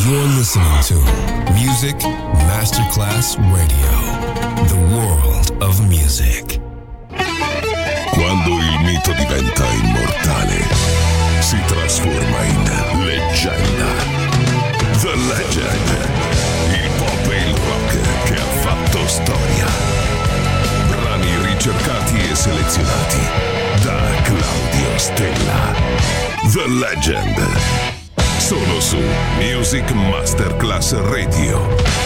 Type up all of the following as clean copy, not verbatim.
You're listening to Music Masterclass Radio, the world of music. Quando il mito diventa immortale, si trasforma in leggenda. The Legend, il pop e il rock che ha fatto storia. Brani ricercati e selezionati da Claudio Stella. The Legend, solo su Music Masterclass Radio.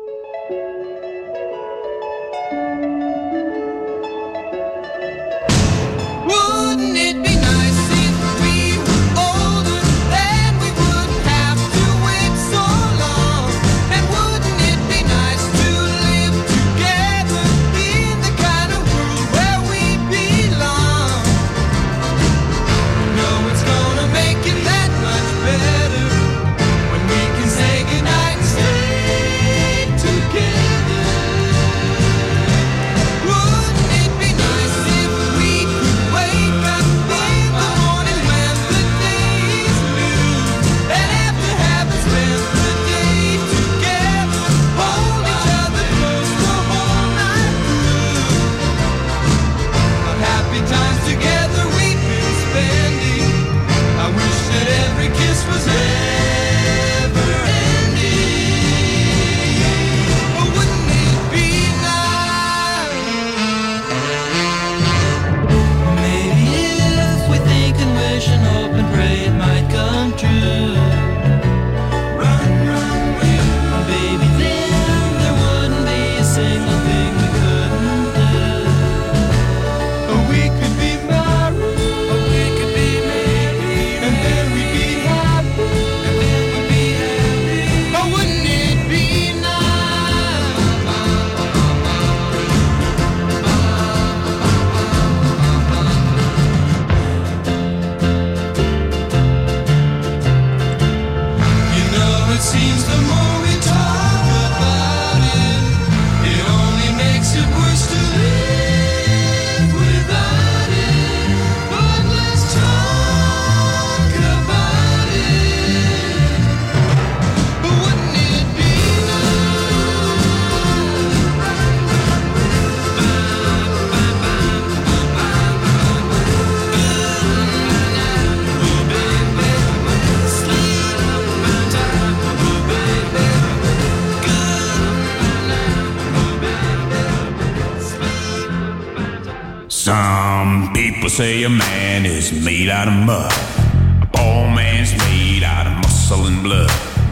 Say a man is made out of mud. A poor man's made out of muscle and blood.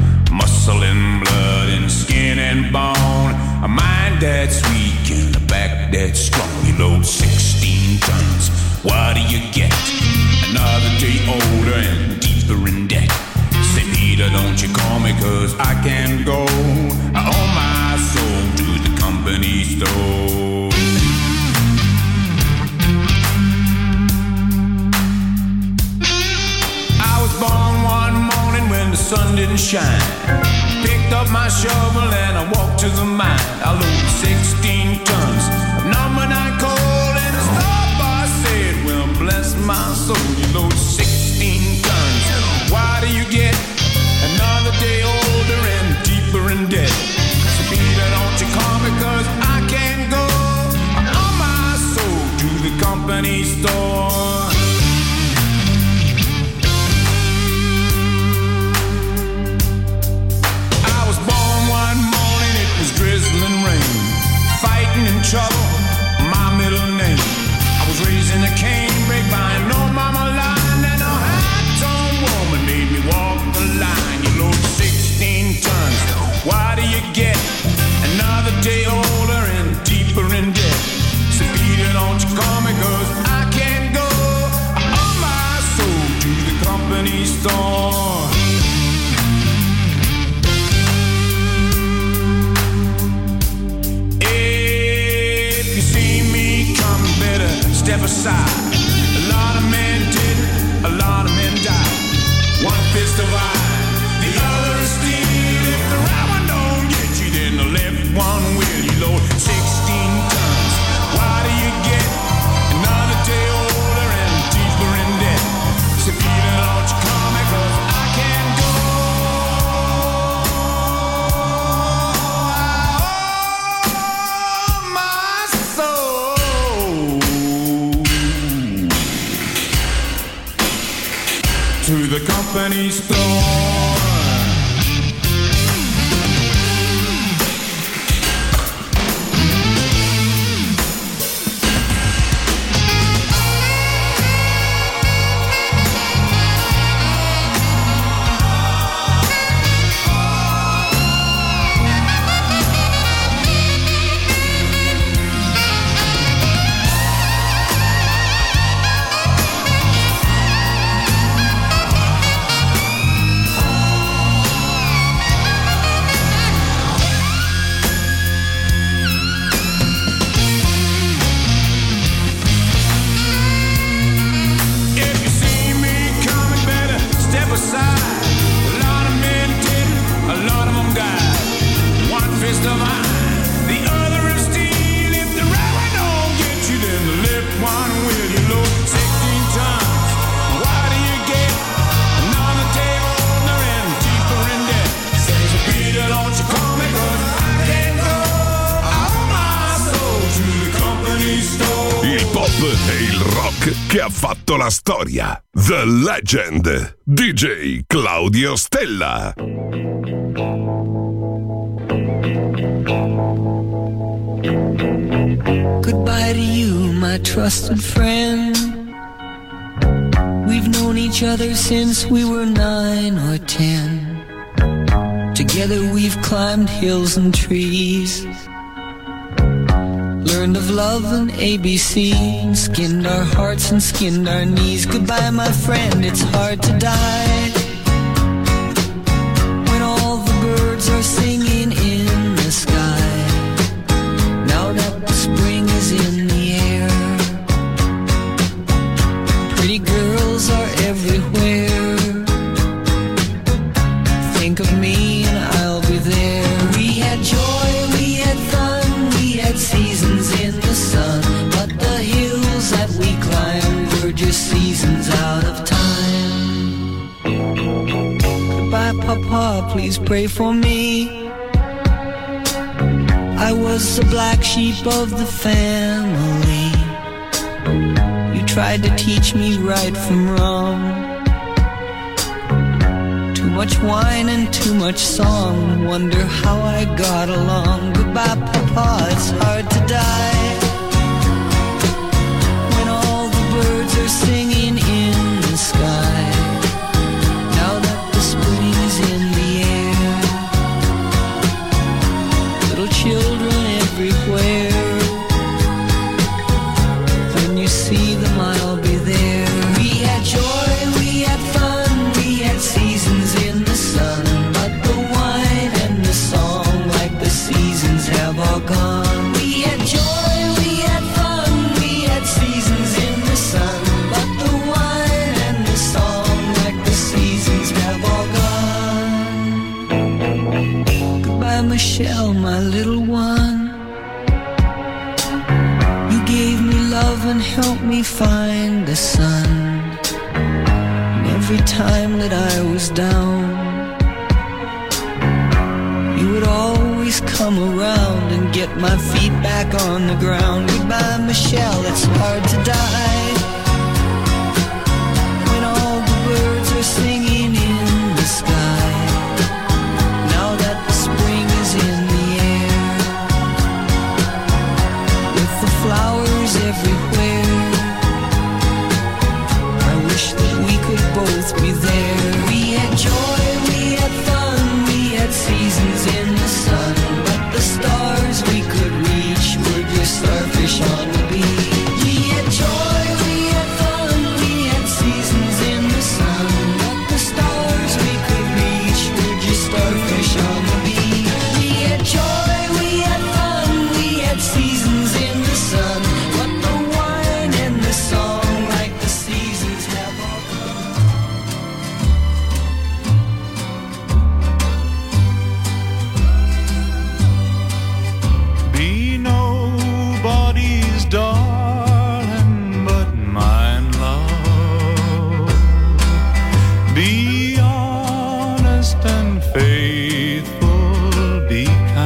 Muscle and blood and skin and bone. A mind that's weak and a back that's strong. You load 16 tons. What do you get? Another day older and deeper in debt. Say, Peter, don't you call me, 'cause I can't go. I owe my soul to the company store. Born one morning when the sun didn't shine. Picked up my shovel and I walked to the mine. I loaded 16 tons of number 9 coal, and the star said, well, bless my soul, you load 16 tons. Why do you get another day older and deeper in debt? So Peter, don't you call me, 'cause I can't go. I owe my soul to the company store. Drizzling rain, fighting in trouble, my middle name. I was raised in a canebrake by an old mama line, and a hot-toned woman made me walk company store. Che ha fatto la storia. The Legend. DJ Claudio Stella. Goodbye to you, my trusted friend. We've known each other since we were 9 or 10. Together we've climbed hills and trees, learned of love and ABC, and skinned our hearts and skinned our knees. Goodbye, my friend, it's hard to die when all the birds are singing in the sky. Now that the spring is in the air, pretty girls are everywhere. Think of me and I'll be there. We had joy, we had fun, we had seasons in the sun, but the hills that we climbed were just seasons out of time. Goodbye, Papa, please pray for me. I was the black sheep of the family. You tried to teach me right from wrong. Too much wine and too much song, wonder how I got along. Goodbye, Papa, it's hard to die when all the birds are singing in the sky. Now that the spring is in the air, little children everywhere. When you see them, I'll be there. We had joy, we had fun, we had seasons in the sun, but the wine and the song, like the seasons, have all gone. We had joy, we had fun, we had seasons in the sun, but the wine and the song, like the seasons, have all gone. Goodbye, Michelle, my little one. You gave me love and helped me find the sun. And every time that I was down, you would always come around and get my feet back on the ground. Goodbye, Michelle, it's hard to die when all the birds are singing in the sky. Now that the spring is in the air, with the flowers everywhere, I wish that we could both be there. We had joy, we had fun, we had seasons in the sun, but the stars we could reach were just starfish on the beach. We had joy, we had fun, we had seasons in the sun, but the stars we could reach were just starfish on the beach. We had joy, we had fun, we had seasons in the sun, but the wine and the song, like the seasons, have all gone. Be nobody's darling but mine, love. Be honest and faithful, be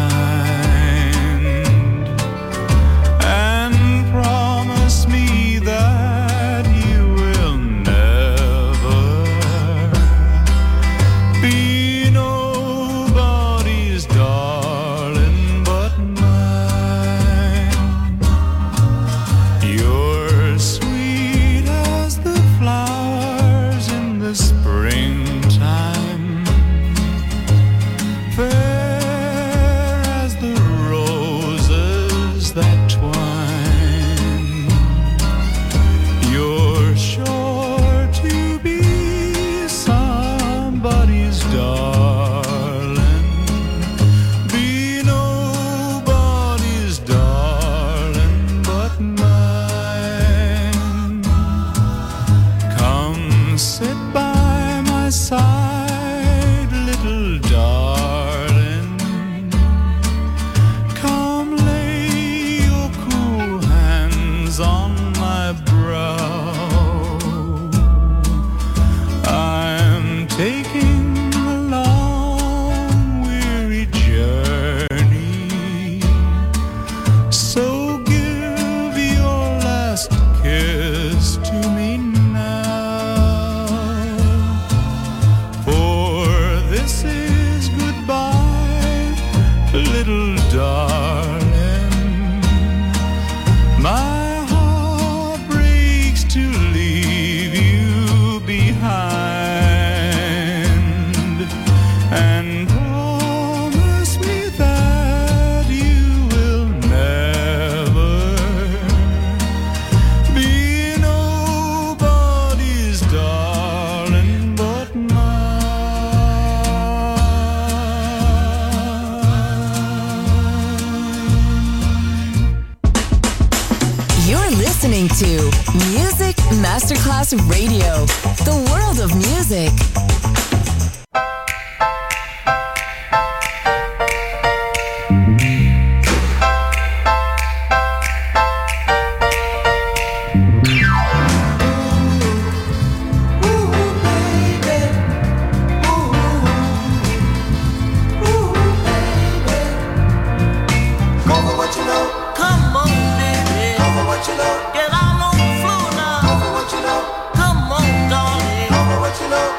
kind, and promise me that you will never be nobody's darling but mine. You're sweet as the flowers in the springtime, fair as the roses that twine. You're sure to be somebody's darling, be nobody's darling but mine. Come sit by my side, little darling. Come lay your cool hands on my brow. I'm taking a long, weary journey, so give your last kiss to me now. For this is goodbye, little darling. My heart breaks to leave you behind, and promise me that you will never be nobody's darling but mine. You're listening to Music Masterclass Radio, the world of music. Come on, baby. Get out on the floor now. Come on, darling.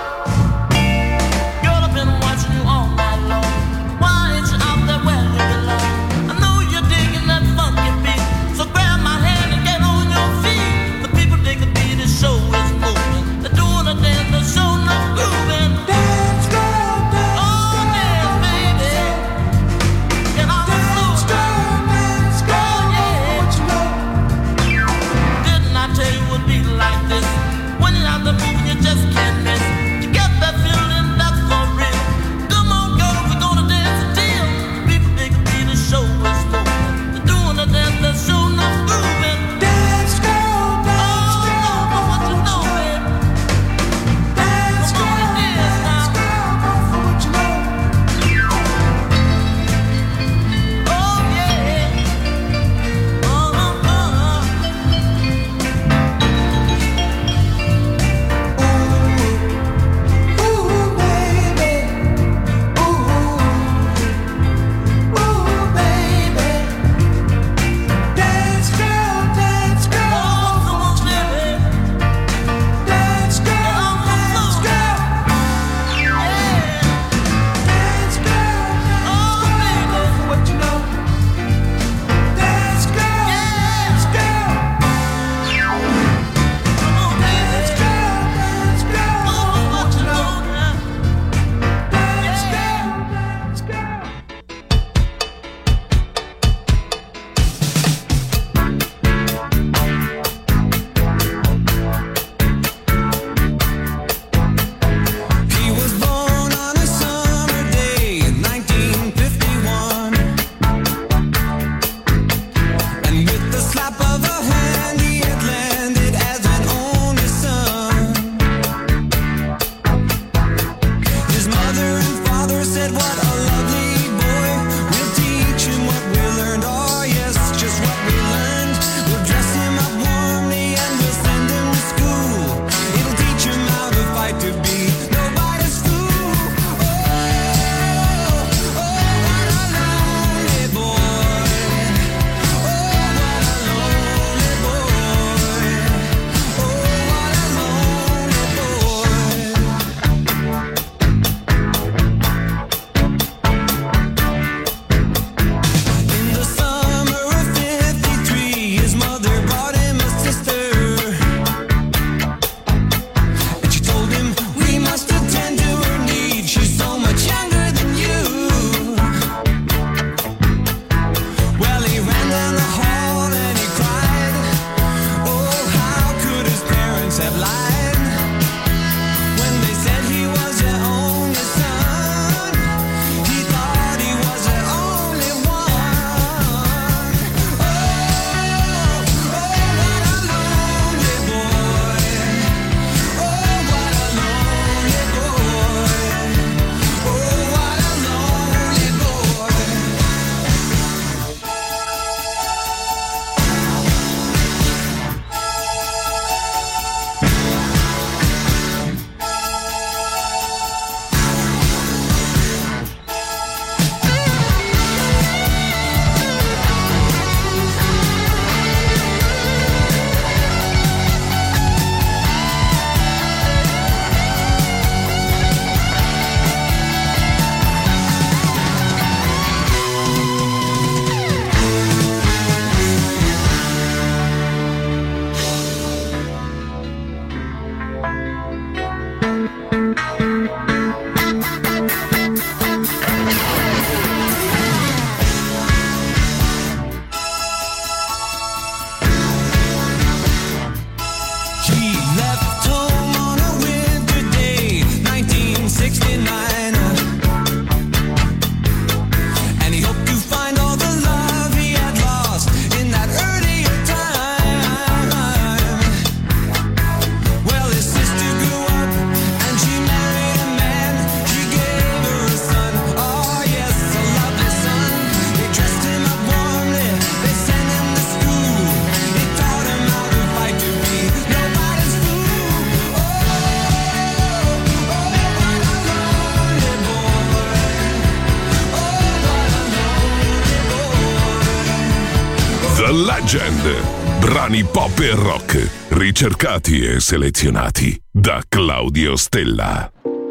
The Legend. Brani pop e rock, ricercati e selezionati da Claudio Stella.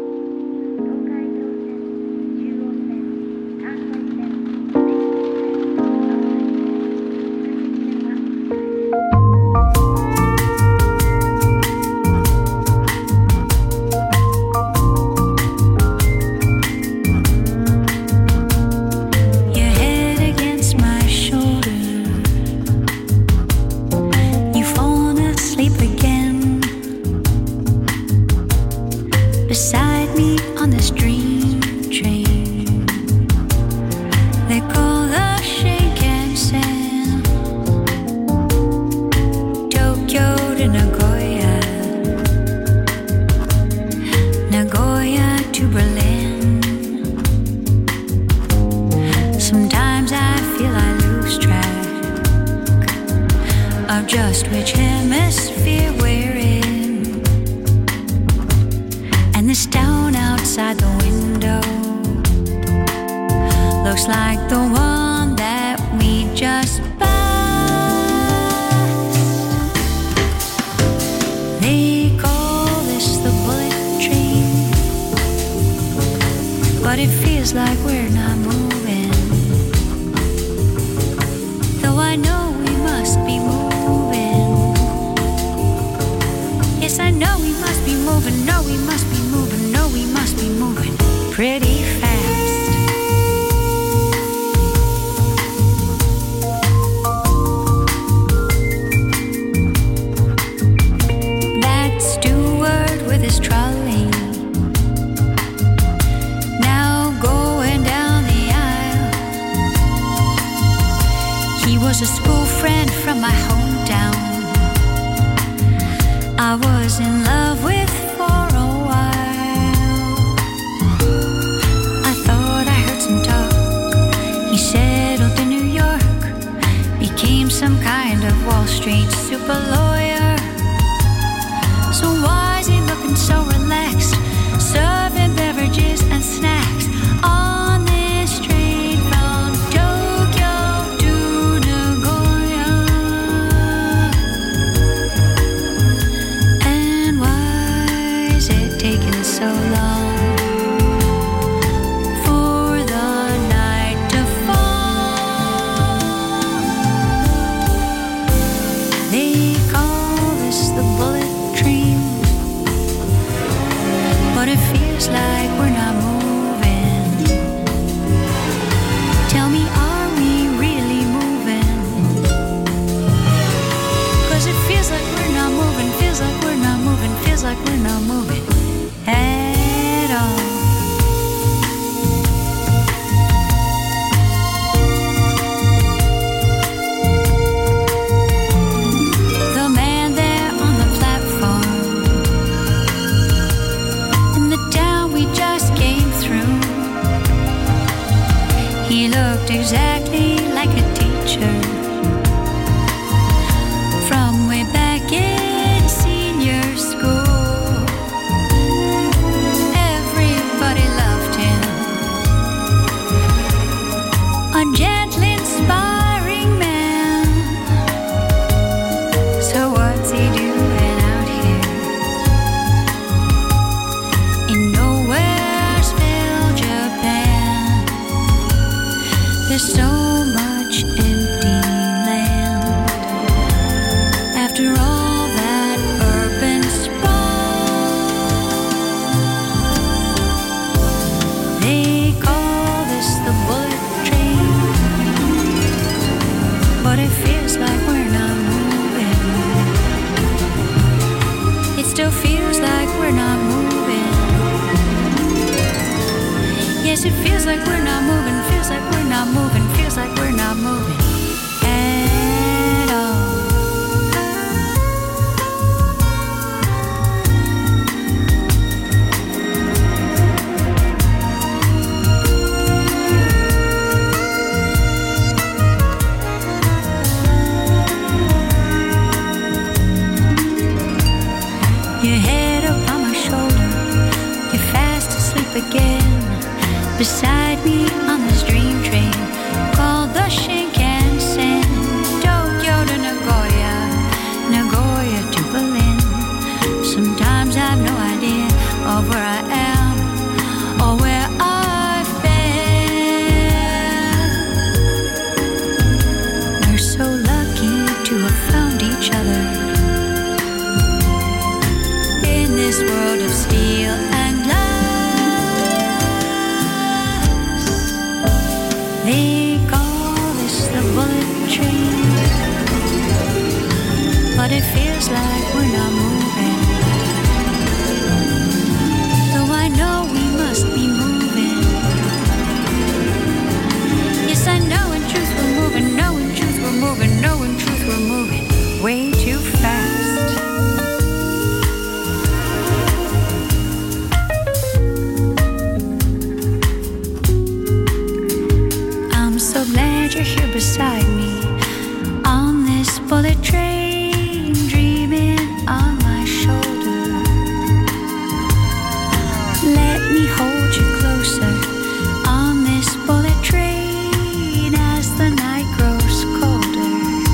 Just which hemisphere we're in, and this town outside the window looks like the one that we just passed. They call this the bullet train, but it feels like we're not moving, though I know we must be moving. Yes, I know we must be moving, no, we must be moving, no, we must be moving pretty fast. That steward with his trolley, now going down the aisle. He was a school friend from my hometown, I was in love with for a while. I thought I heard some talk. He settled in New York, became some kind of Wall Street super lawyer. So why is he looking so relaxed, serving beverages and snacks on this train from Tokyo to Nagoya? Taking so long for the night to fall. They call this the bullet train, but it feels like we're not moving. Tell me, are we really moving? 'Cause it feels like we're not moving, feels like we're not moving, feels like we're not moving at all. The man there on the platform in the town we just came through, he looked exactly like a teacher from way back in senior school. A gentle, inspiring man. So what's he doing out here in Nowheresville, Japan? There's so much empty land after all that urban sprawl. They call this the bullet train, but it feels like we're not moving. It still feels like we're not moving. Yes, it feels like we're not moving, feels like we're not moving, feels like we're not moving at all. Your head up on my shoulder, you're fast asleep again. Beside me on this dream train called the Shinkansen. Tokyo you're here beside me on this bullet train, dreaming on my shoulder. Let me hold you closer on this bullet train as the night grows colder.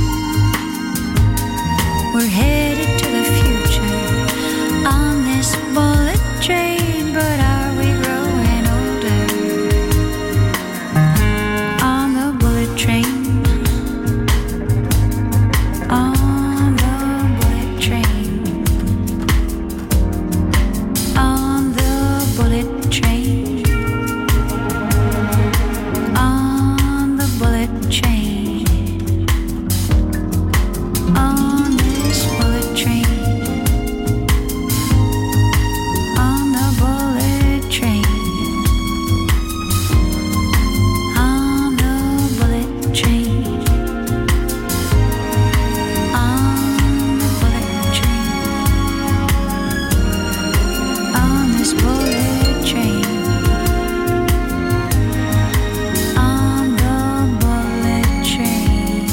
We're headed to the future on this bullet train, but are we growing older on the bullet train? On the bullet train. On the bullet train. On the bullet train. On this bullet train. On the bullet train. On the bullet train. On the bullet train. On this bullet train. On the bullet train.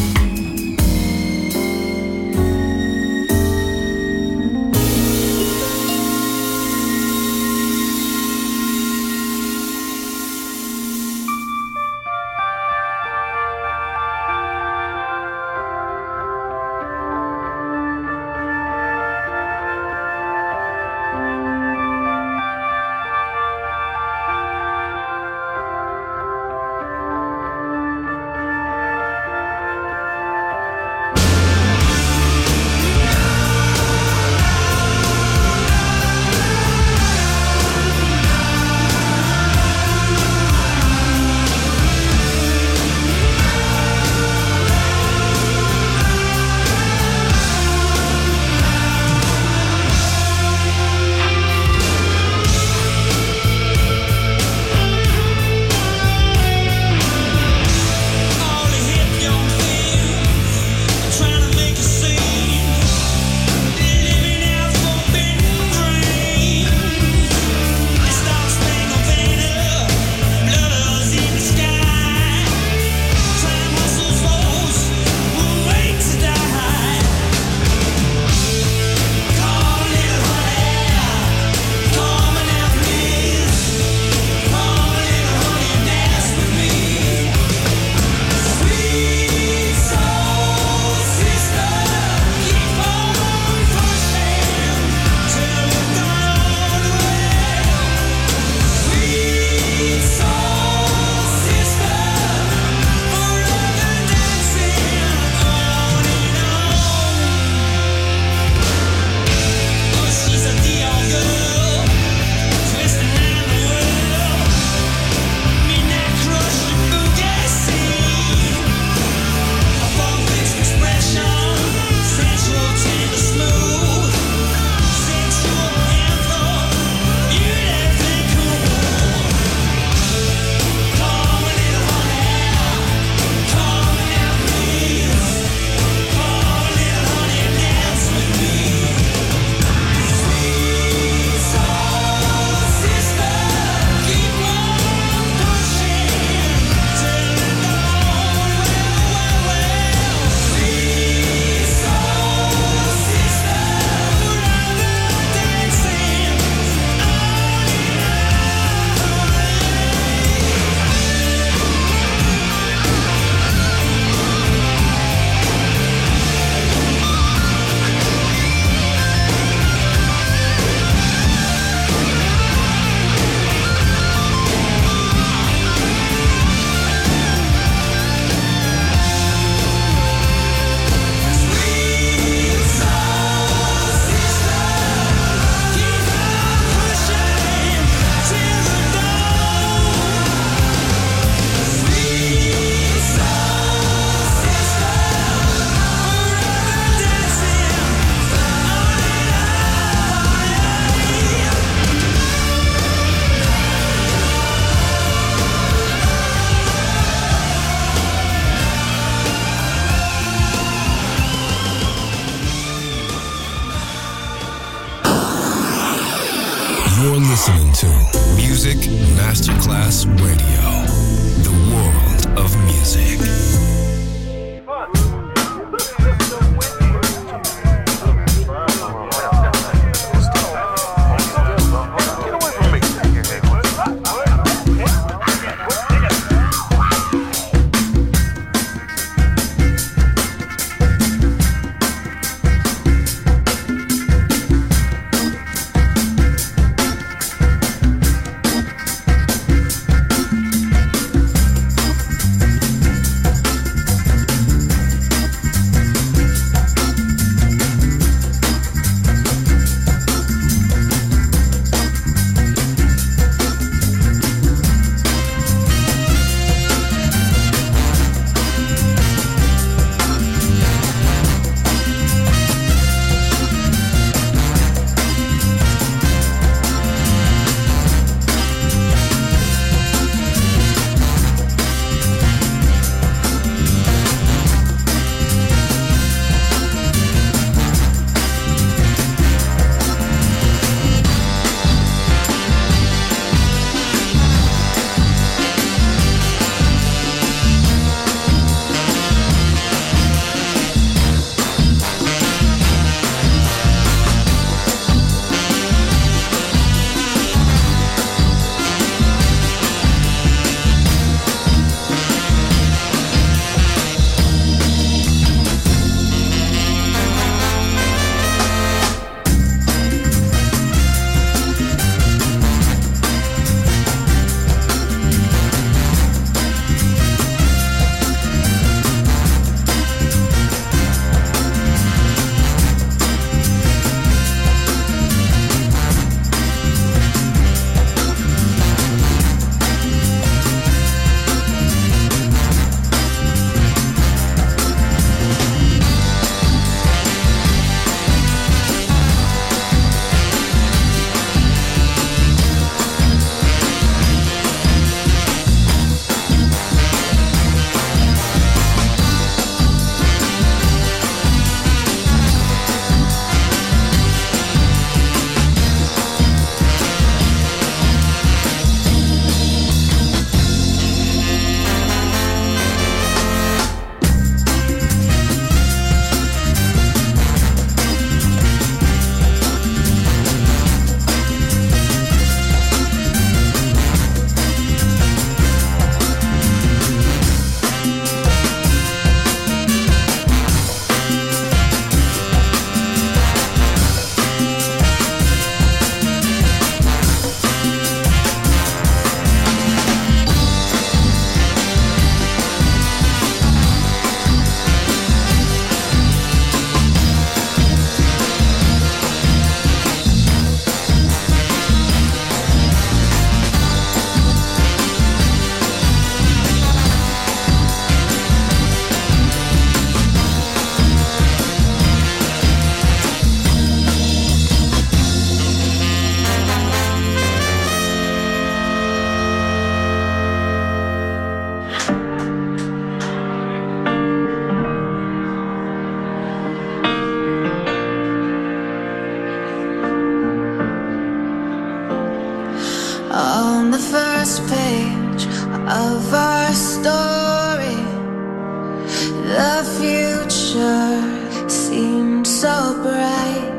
You're listening to Music Masterclass Radio, the world of music. of our story. The future seemed so bright,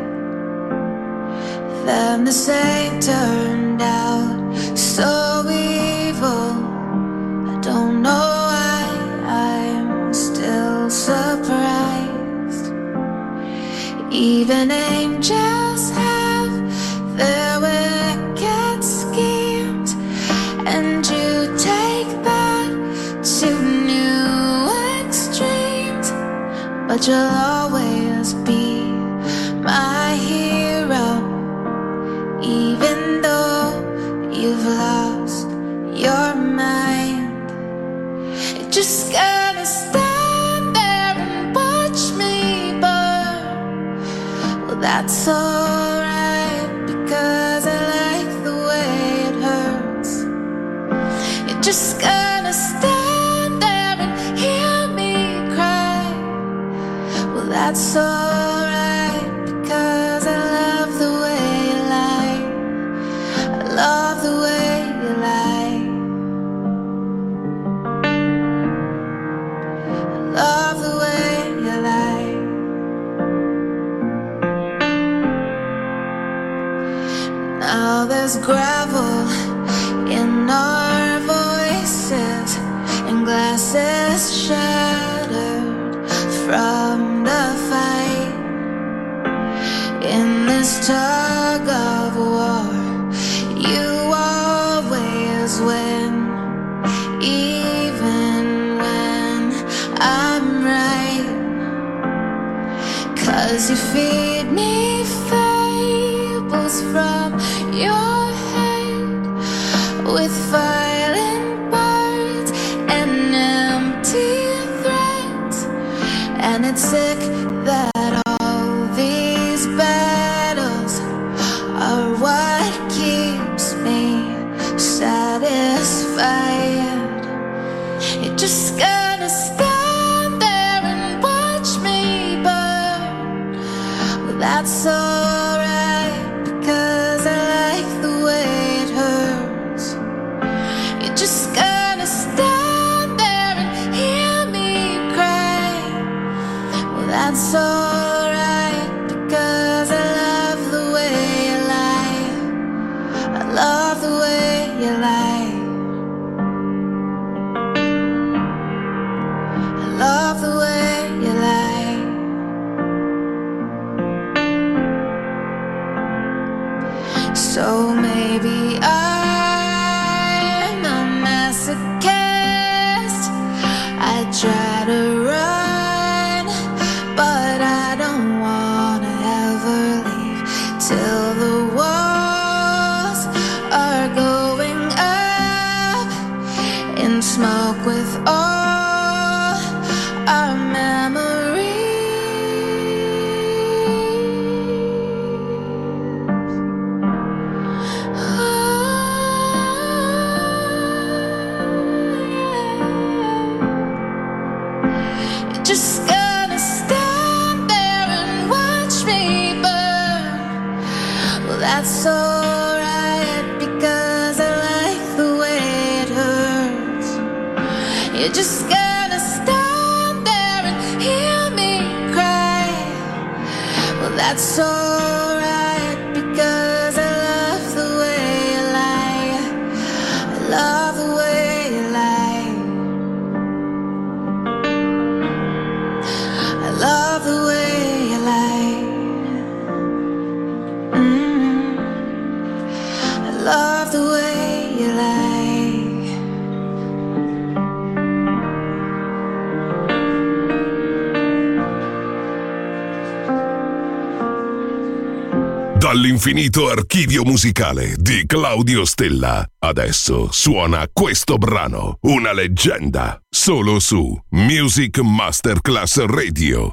then the same turned out so evil. I don't know why I'm still surprised. Even angels have their wicked schemes, and you take that to new extremes. But you'll always be my hero, even though you've lost your mind. You're just gonna stand there and watch me burn. Well, that's alright, because I like the way it hurts. You're just gonna stand there and hear me cry. Well, that's alright, because I love the way you lie. I love the way you lie. I love the way you lie. Now there's gravel in our voices and glasses shattered from the fight. In this tug of war, you always win, even when I'm right. 'Cause you feed me fables from your head with violent words and empty threats. And it's sick that all these battles are what keeps me satisfied. You're just gonna stand there and watch me burn. Well, that's alright, because I like the way it hurts. You're just gonna stand there and hear me cry. Well, that's alright, because I love the way you lie. I love the way you lie. I love the way you lie. So maybe I'm a masochist. I try to run, but I don't wanna ever leave till the walls are going up in smoke with all our memories. You're just gonna stand there and watch me burn. Well, that's alright, because I like the way it hurts. You're just gonna stand there and hear me cry. Well, that's alright, because I love the way you lie. I love the way you lie. I love the way you lie. I love the way you lie. Dall'infinito archivio musicale di Claudio Stella, adesso suona questo brano, una leggenda, solo su Music Masterclass Radio.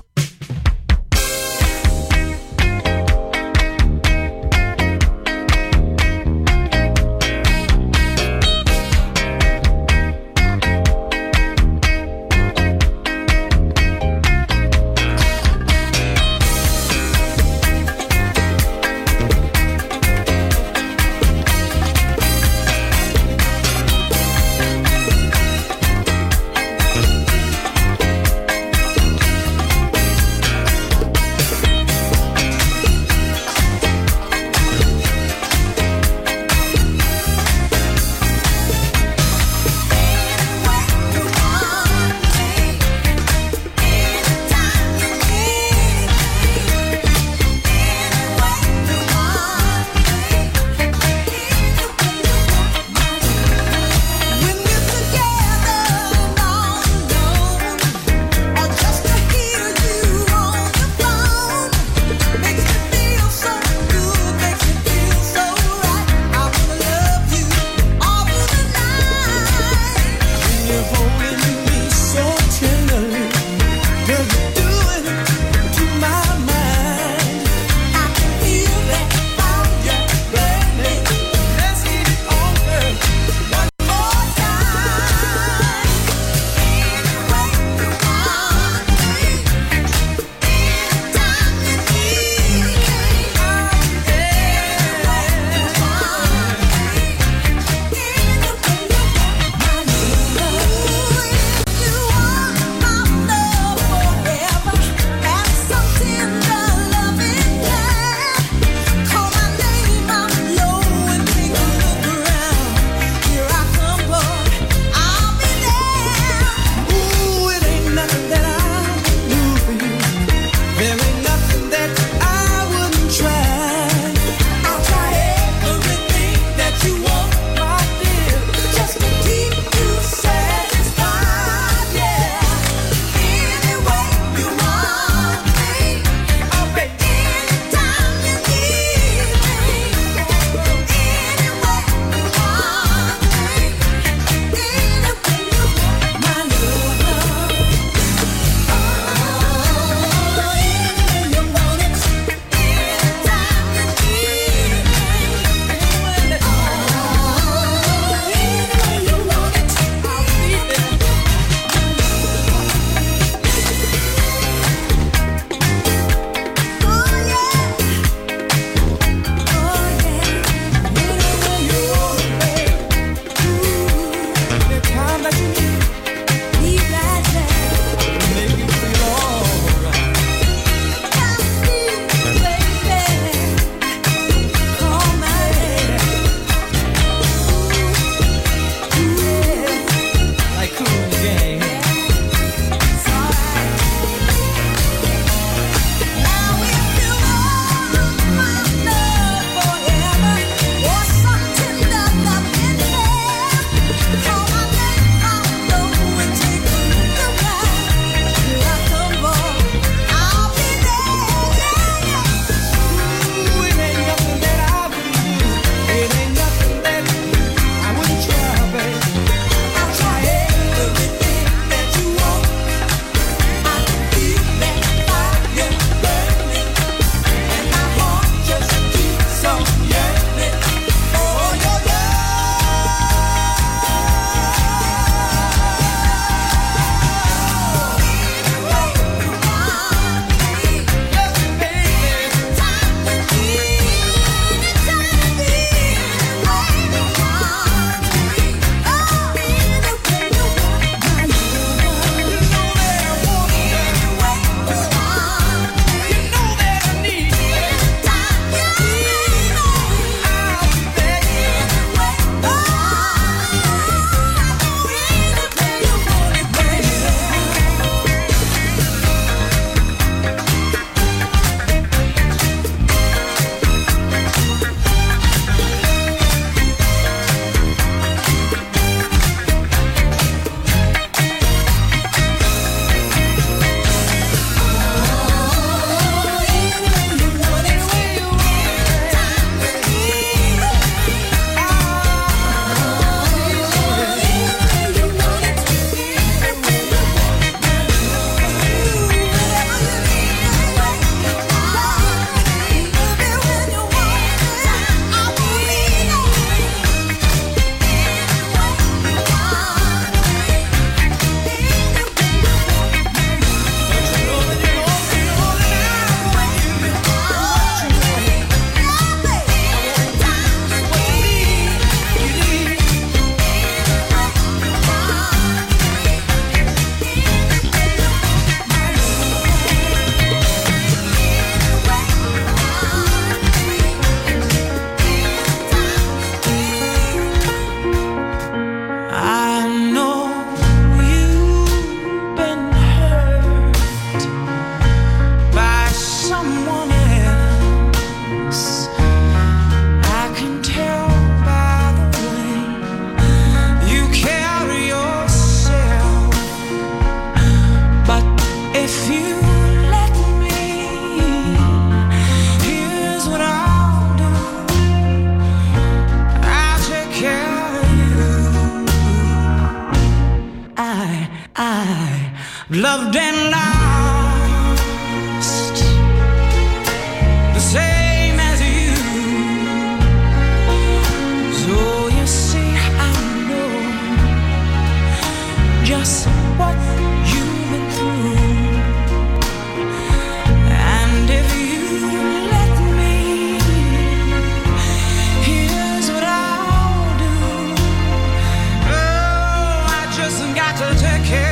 I loved and lost the same as you. So you see, I know just what you've been through. And if you let me, here's what I'll do. Oh, I just got to take care.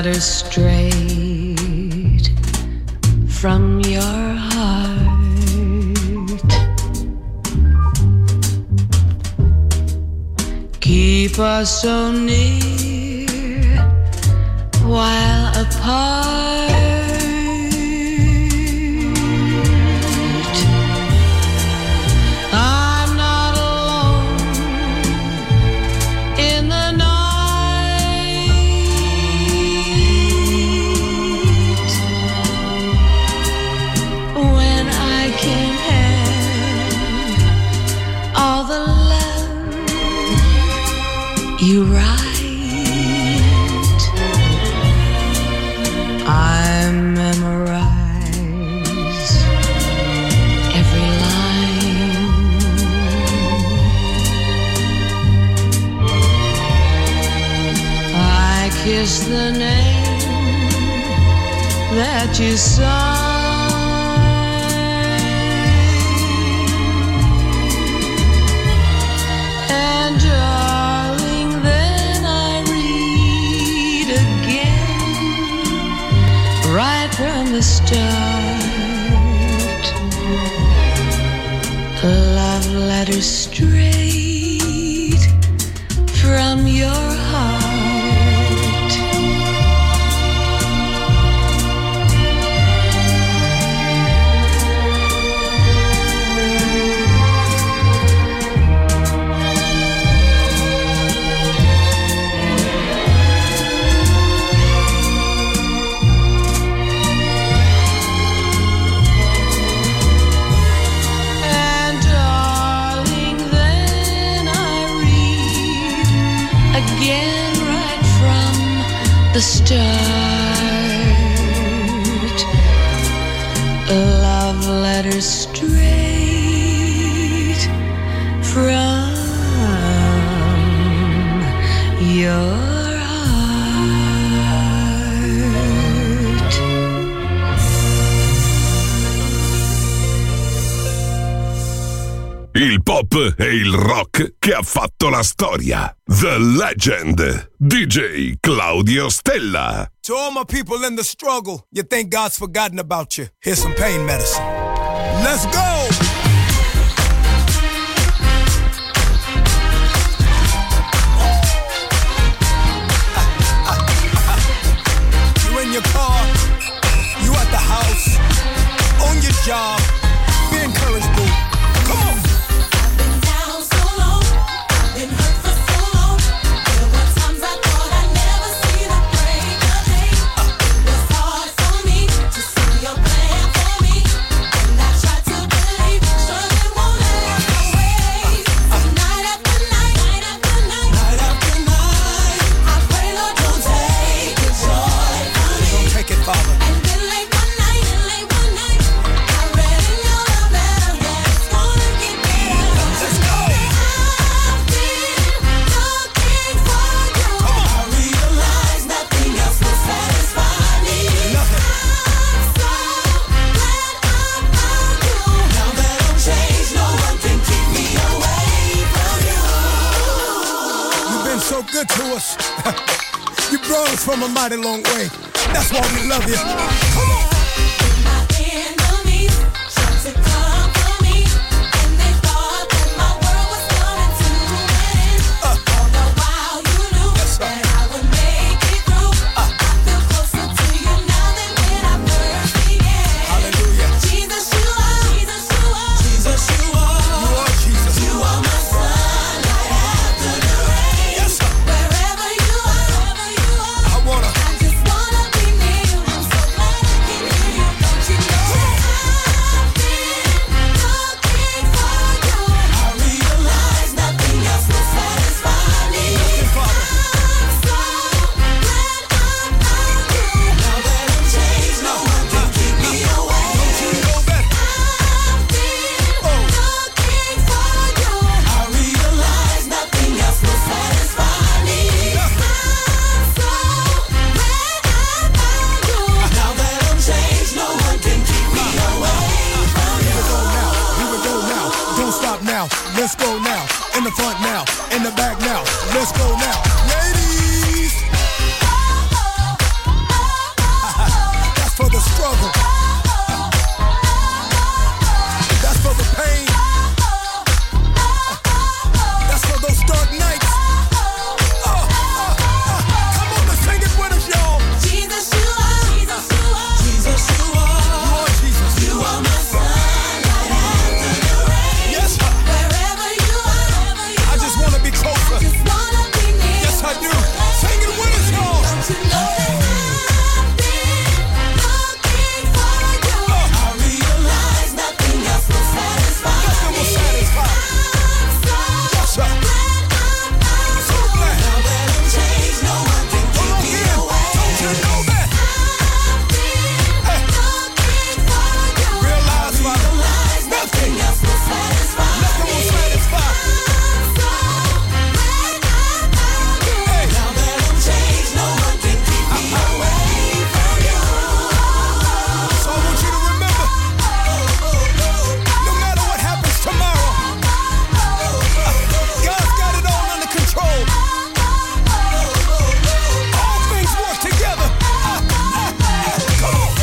letter straight from your heart. Keep us so near while apart. I'm not alone in the night when I can have all the love you write. I memorize every line. I kiss the name that you sign. And darling, then I read again right from the start. Love letters straight from your heart. And darling, then I read again right from the start. Love letters straight from your heart. Il pop e il rock che ha fatto la storia. The Legend. DJ Claudio Stella. To all my people in the struggle, you think God's forgotten about you. Here's some pain medicine. Let's go! You in your car, you at the house, on your job, be encouraged, boo. Come on! Good to us. You brought us from a mighty long way. That's why we love you. Come on. My enemies tried to come for me, and they thought that my world was coming to an end. All the while you knew that I would make it through. I feel closer to you now than when I first began. Hallelujah. Jesus, you are. Jesus, you are. Jesus, you are. You are Jesus. You are my sunlight after the rain. Yes, sir. Wherever you are, I just wanna be near you. I'm so glad I can hear you. Don't you know that I've been looking for you? I realize nothing else will satisfy me. I'm so glad I found you. Now that I'm changed, no one can keep me away. Don't you know that I've been looking for you? I realize nothing else will satisfy me. I'm so glad I found you. Now that I'm changed, no one can keep me away from you. Here we go now. Don't stop now. Let's go now. In the front now. In the back now. Let's go now. Ladies. for the struggle. That's for the pain. That's for those dark nights. Come on, let's sing it with us, y'all. Jesus, you are. Jesus, you are. Jesus, you are. Lord Jesus, You are my sunlight after the rain. yes, sir. Wherever you are, I just want to be closer. just wanna be near. Yes, I do. Sing it with us, y'all. Don't you know that I've been looking for you? I realize nothing else will satisfy Nothing will me. satisfy. I'm so Yes, sir. So glad. now that I'm changed, no one can Come keep on, me again. away. Don't you know that? Hey, Looking for you. realize, Father, Realize nothing else will satisfy nothing will satisfy. Hey, Now that I'm changed, no one can keep me away from you. so I want you to remember, no matter what happens tomorrow, God's got it all under control. All things work together. Come on.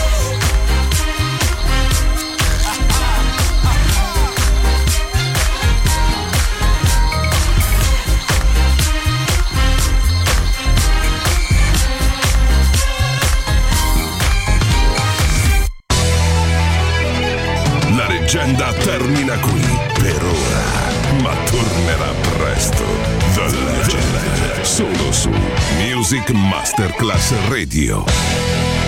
La leggenda termina qui per ora, ma tornerà presto. The Legend, solo su Music Masterclass Radio.